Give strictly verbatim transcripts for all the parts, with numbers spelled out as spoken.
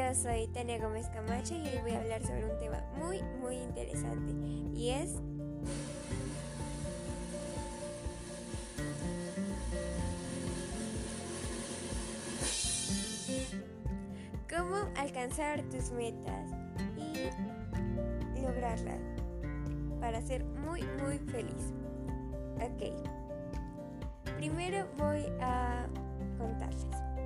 Yo soy Tania Gómez Camacho y hoy voy a hablar sobre un tema muy, muy interesante y es cómo alcanzar tus metas y lograrlas para ser muy, muy feliz. Ok, primero voy a contarles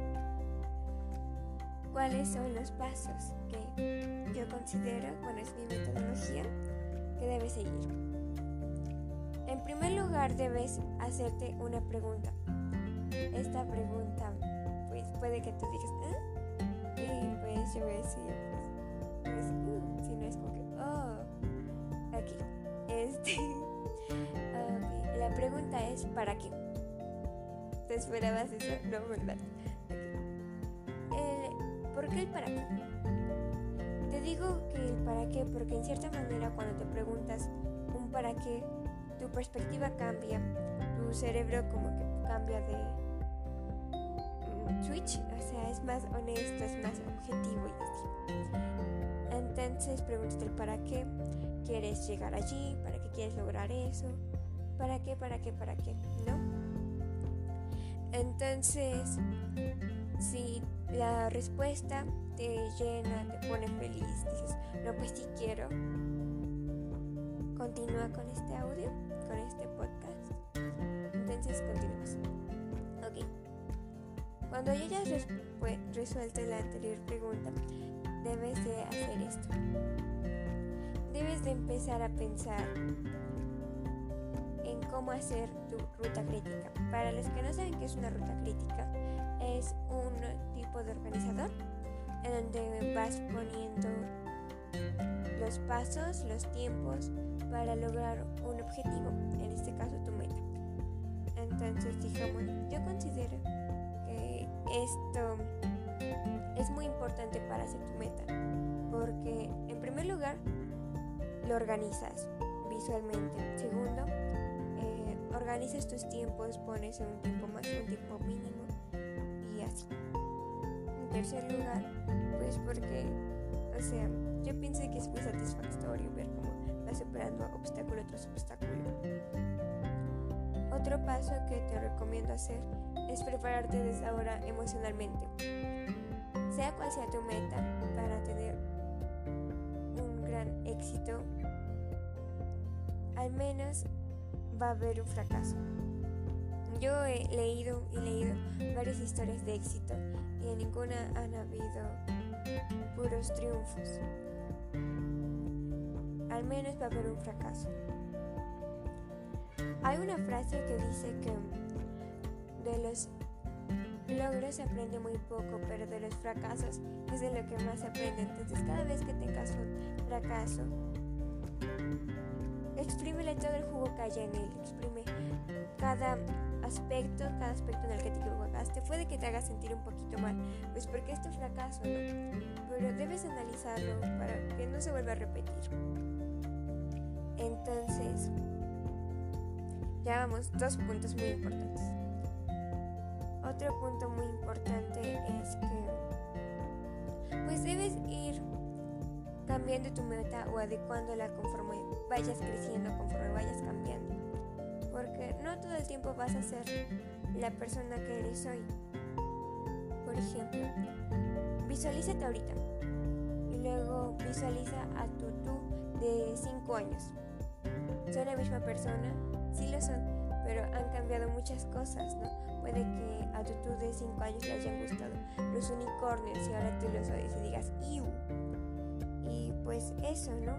cuáles son los pasos que yo considero, bueno, es mi metodología, que debes seguir. En primer lugar, debes hacerte una pregunta. Esta pregunta, pues, puede que tú digas, ¿eh? Y pues yo voy a decir, pues, pues uh, si no es como que, oh, aquí, este, okay. La pregunta es, ¿para qué? ¿Te esperabas eso? No, ¿verdad? ¿Por qué el para qué? Te digo que el para qué porque en cierta manera cuando te preguntas un para qué, tu perspectiva cambia, tu cerebro como que cambia de um, switch, o sea, es más honesto, es más objetivo y así. Entonces pregúntate el para qué, ¿quieres llegar allí? ¿Para qué quieres lograr eso? ¿Para qué, para qué, para qué? ¿No? Entonces, si la respuesta te llena, te pone feliz, dices, no, pues sí quiero, continúa con este audio, con este podcast. Entonces, continuamos. Ok. Cuando ya hayas respu- resuelto la anterior pregunta, debes de hacer esto. Debes de empezar a pensar en cómo hacer tu ruta crítica. Para los que no saben qué es una ruta crítica, es un tipo de organizador en donde vas poniendo los pasos, los tiempos para lograr un objetivo, en este caso tu meta. Entonces, digamos, yo considero que esto es muy importante para hacer tu meta, porque en primer lugar lo organizas visualmente. Segundo, eh, organizas tus tiempos, pones un tiempo más, un tiempo mínimo y así. En tercer lugar, pues porque, o sea, yo pienso que es muy satisfactorio ver cómo vas superando obstáculo tras obstáculo. Otro paso que te recomiendo hacer es prepararte desde ahora emocionalmente. Sea cual sea tu meta, para tener un gran éxito, al menos va a haber un fracaso. Yo he leído y leído varias historias de éxito y en ninguna han habido puros triunfos. Al menos va a haber un fracaso. Hay una frase que dice que de los logros se aprende muy poco, pero de los fracasos es de lo que más se aprende. Entonces, cada vez que tengas un fracaso, exprímele todo el jugo que haya en él, exprime cada aspecto, cada aspecto en el que te equivocaste. Puede que te haga sentir un poquito mal, pues porque es tu fracaso, ¿no? Pero debes analizarlo para que no se vuelva a repetir. Entonces, ya vamos, dos puntos muy importantes. Otro punto muy importante es que pues debes ir cambiando tu meta o adecuándola conforme vayas creciendo, conforme vayas cambiando. Porque no todo el tiempo vas a ser la persona que eres hoy. Por ejemplo, visualízate ahorita y luego visualiza a tu tú de cinco años. ¿Son la misma persona? Sí lo son, pero han cambiado muchas cosas, ¿no? Puede que a tu tú de cinco años le hayan gustado los unicornios y ahora tú los odias y digas ¡iu! Y pues eso, ¿no?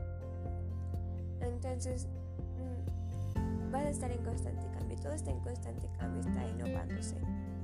Entonces mmm, vas a estar en constante cambio, todo está en constante cambio, está innovándose.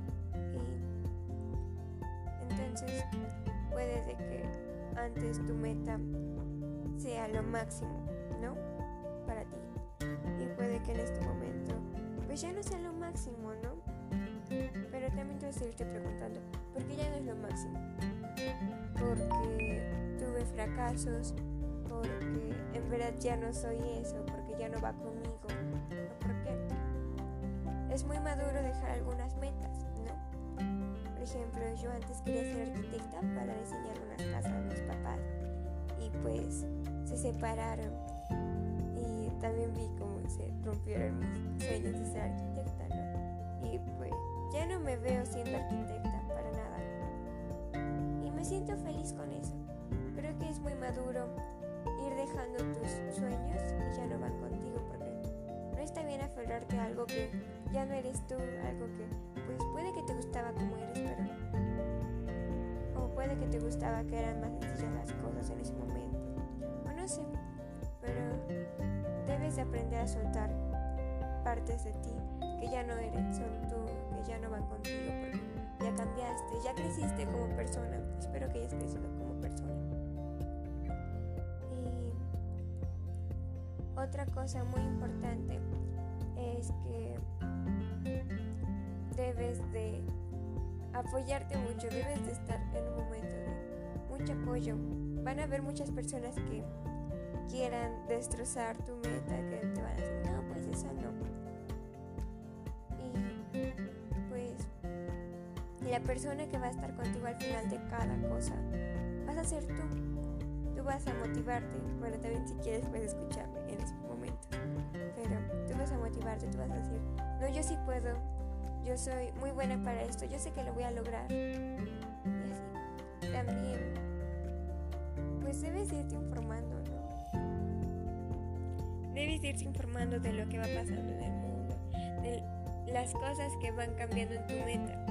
Y entonces puede de que antes tu meta sea lo máximo, ¿no? Para ti. Y puede que en este momento pues ya no sea lo máximo, ¿no? Pero también te vas a seguirte preguntando, ¿por qué ya no es lo máximo? Porque tuve fracasos, porque en verdad ya no soy eso, porque ya no va conmigo, ¿no? ¿Por qué? Es muy maduro dejar algunas metas, ¿no? Por ejemplo, yo antes quería ser arquitecta para diseñar unas casas a mis papás y pues se separaron y también vi cómo se rompieron mis sueños de ser arquitecta, ¿no? Y pues ya no me veo siendo arquitecta para nada y me siento feliz con eso. Creo que es muy maduro ir dejando tus sueños y ya no van contigo, porque no está bien aferrarte a algo que ya no eres tú, algo que pues puede que te gustaba como eres, pero o puede que te gustaba que eran más sencillas las cosas en ese momento, o no sé, pero debes de aprender a soltar partes de ti que ya no eres, son tú, que ya no van contigo, porque ya cambiaste, ya creciste como persona. Espero que hayas crecido como persona. Y otra cosa muy importante es que debes de apoyarte mucho, debes de estar en un momento de mucho apoyo. Van a haber muchas personas que quieran destrozar tu meta, que te van a decir, no, pues eso no. Y pues la persona que va a estar contigo al final de cada cosa vas a ser tú. Tú vas a motivarte. Bueno, también si quieres puedes escucharme en ese momento, pero tú vas a motivarte, tú vas a decir, no, yo sí puedo, yo soy muy buena para esto, yo sé que lo voy a lograr. Y así. También pues debes irte informando, ¿no? Debes irte informando de lo que va pasando en el mundo, de las cosas que van cambiando en tu meta,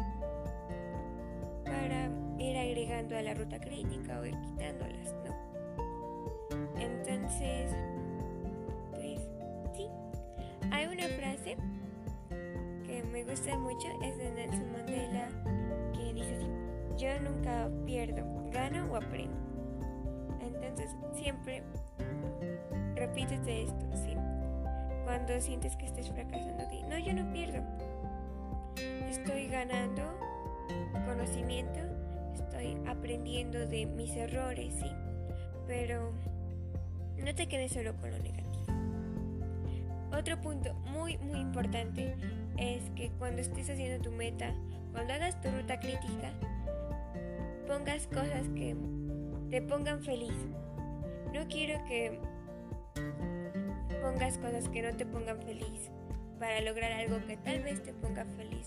para ir agregando a la ruta crítica o ir quitándolas, ¿no? Entonces, pues sí, hay una frase que me gusta mucho, es de Nelson Mandela, que dice así: yo nunca pierdo, gano o aprendo. Entonces siempre repítete esto, ¿sí? Cuando sientes que estés fracasando, di, no, yo no pierdo, estoy ganando conocimiento, estoy aprendiendo de mis errores, ¿sí? Pero no te quedes solo con lo negativo. Otro punto muy muy importante es que cuando estés haciendo tu meta, cuando hagas tu ruta crítica, pongas cosas que te pongan feliz. No quiero que pongas cosas que no te pongan feliz para lograr algo que tal vez te ponga feliz.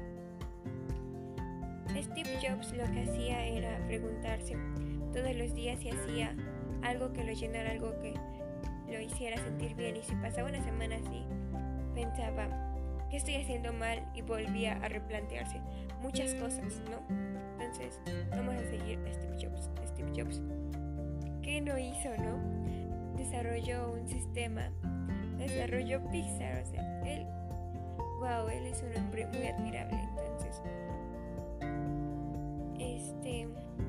Steve Jobs lo que hacía era preguntarse todos los días si hacía algo que lo llenara, algo que lo hiciera sentir bien, y si pasaba una semana así, pensaba, ¿qué estoy haciendo mal? Y volvía a replantearse muchas cosas, ¿no? Entonces, vamos a seguir a Steve Jobs. Steve Jobs, ¿qué no hizo, no? Desarrolló un sistema, desarrolló Pixar, o sea, él, wow, él es un hombre muy admirable. Entonces, este,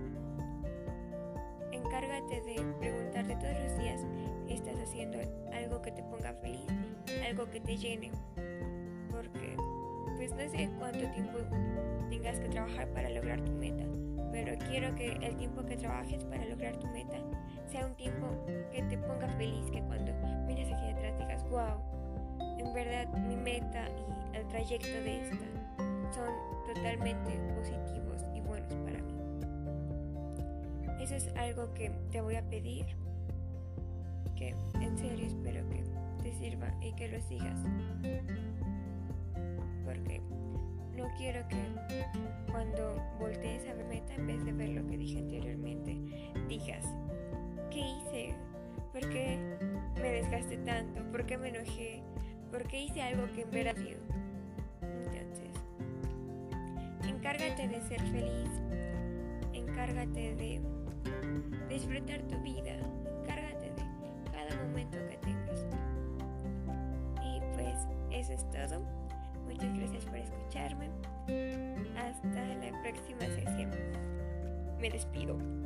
encárgate de preguntarte todos los días, ¿estás haciendo algo que te ponga feliz? Algo que te llene, porque pues no sé cuánto tiempo tengas que trabajar para lograr tu meta, pero quiero que el tiempo que trabajes para lograr tu meta sea un tiempo que te ponga feliz, que cuando mires hacia atrás digas, wow, en verdad mi meta y el trayecto de esta son totalmente positivos y buenos para mí. Eso es algo que te voy a pedir, que en serio espero que te sirva y que lo sigas, porque no quiero que cuando voltees a ver meta, en vez de ver lo que dije anteriormente, digas, ¿qué hice? ¿Por qué me desgasté tanto? ¿Por qué me enojé? ¿Por qué hice algo que en verdad dio? Entonces, encárgate de ser feliz, encárgate de disfrutar tu vida, encárgate de cada momento que tengas. Y pues eso es todo. Muchas gracias por escucharme. Hasta la próxima sesión. Me despido.